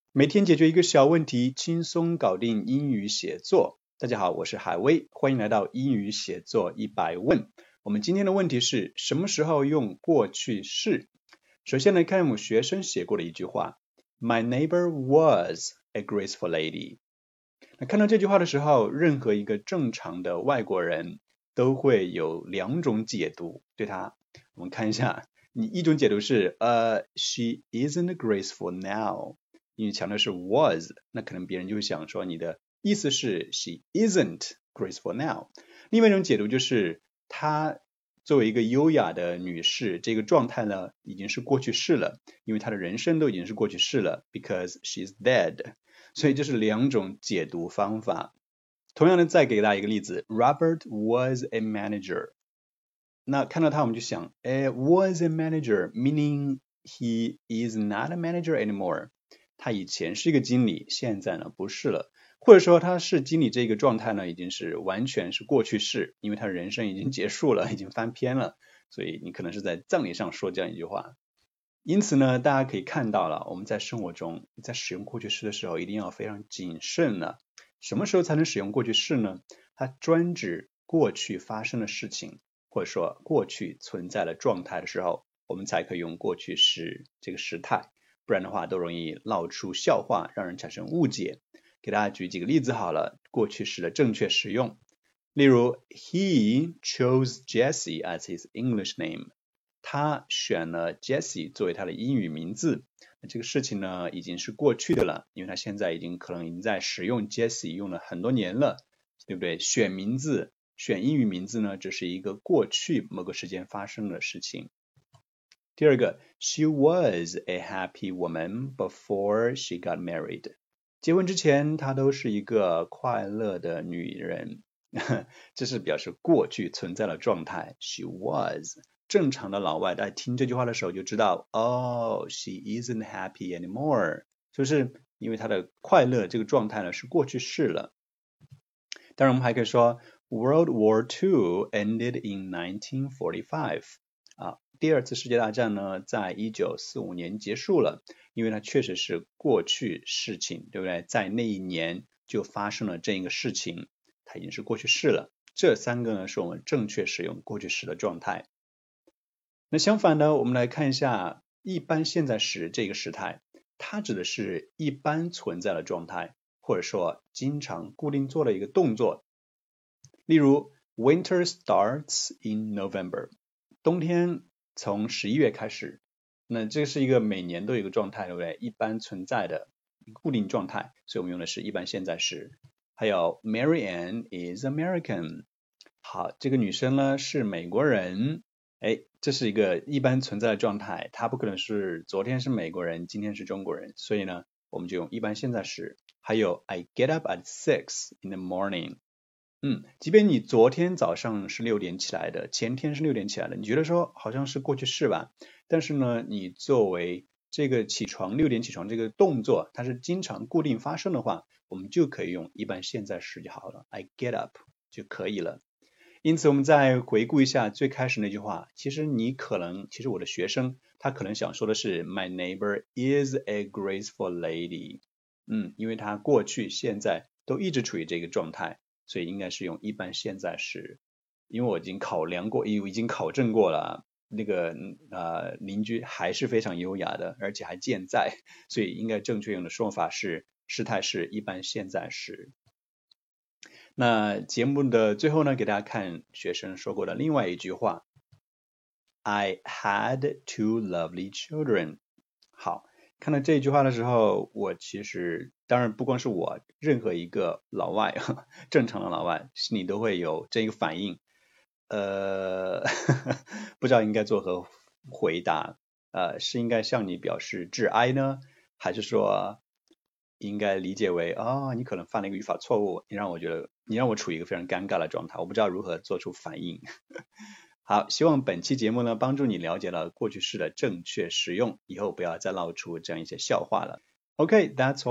每天解决一个小问题，轻松搞定英语写作。大家好，我是海威，欢迎来到英语写作100问。我们今天的问题是什么时候用过去式？首先来看我们学生写过的一句话 My neighbor was a graceful lady。 那看到这句话的时候，任何一个正常的外国人都会有两种解读对它。我们看一下，一种解读是she isn't graceful now，因为强调是 was， 那可能别人就会想说你的意思是 she isn't graceful now。 另外一种解读就是她作为一个优雅的女士，这个状态呢已经是过去式了，因为她的人生都已经是过去式了 because she's dead。 所以这是两种解读方法。同样的，再给大家一个例子 Robert was a manager。 那看到他我们就想was a manager meaning he is not a manager anymore，他以前是一个经理，现在呢不是了，或者说他是经理这个状态呢已经是完全是过去式，因为他人生已经结束了，已经翻篇了，所以你可能是在葬礼上说这样一句话。因此呢，大家可以看到了，我们在生活中在使用过去式的时候一定要非常谨慎了。什么时候才能使用过去式呢？它专指过去发生的事情，或者说过去存在的状态的时候，我们才可以用过去时这个时态，不然的话都容易闹出笑话，让人产生误解。给大家举几个例子好了，过去时的正确使用。例如 He chose Jessie as his English name， 他选了 Jessie 作为他的英语名字。这个事情呢已经是过去的了，因为他现在可能已经在使用 Jessie 用了很多年了，对不对？选名字，选英语名字呢只是一个过去某个时间发生的事情。第二个 She was a happy woman before she got married， 结婚之前她都是一个快乐的女人这是表示过去存在的状态 She was。 正常的老外在听这句话的时候就知道she isn't happy anymore， 就是因为她的快乐这个状态呢是过去式了。当然我们还可以说 World War II ended in 1945，第二次世界大战呢在1945年结束了，因为它确实是过去事情，对不对？在那一年就发生了这一个事情，它已经是过去式了。这三个呢是我们正确使用过去时的状态。那相反呢，我们来看一下一般现在时这个时态，它指的是一般存在的状态，或者说经常固定做的一个动作。例如 Winter starts in November， 冬天从11月开始，那这是一个每年都有一个状态，对不对？一般存在的固定状态，所以我们用的是一般现在时。还有 Mary Ann is American， 好，这个女生呢是美国人，这是一个一般存在的状态，她不可能是昨天是美国人，今天是中国人，所以呢我们就用一般现在时。还有 I get up at 6 in the morning，即便你昨天早上是6点起来的，前天是6点起来的，你觉得说好像是过去式吧，但是呢你作为这个6点起床这个动作它是经常固定发生的话，我们就可以用一般现在时就好了， I get up 就可以了。因此我们再回顾一下最开始那句话，其实我的学生他可能想说的是 My neighbor is a graceful lady，因为他过去现在都一直处于这个状态，所以应该是用一般现在时。因为我已经考证过了，那个邻居还是非常优雅的，而且还健在，所以应该正确用的说法是时态是一般现在时。那节目的最后呢，给大家看学生说过的另外一句话 I had 2 lovely children。 好，看到这句话的时候，我其实当然不光是我，任何一个老外正常的老外心里都会有这个反应不知道应该作何回答，是应该向你表示致哀呢，还是说应该理解为你可能犯了一个语法错误，你让我处于一个非常尴尬的状态，我不知道如何做出反应好，希望本期节目呢帮助你了解了过去式的正确使用，以后不要再闹出这样一些笑话了。Okay, that's all.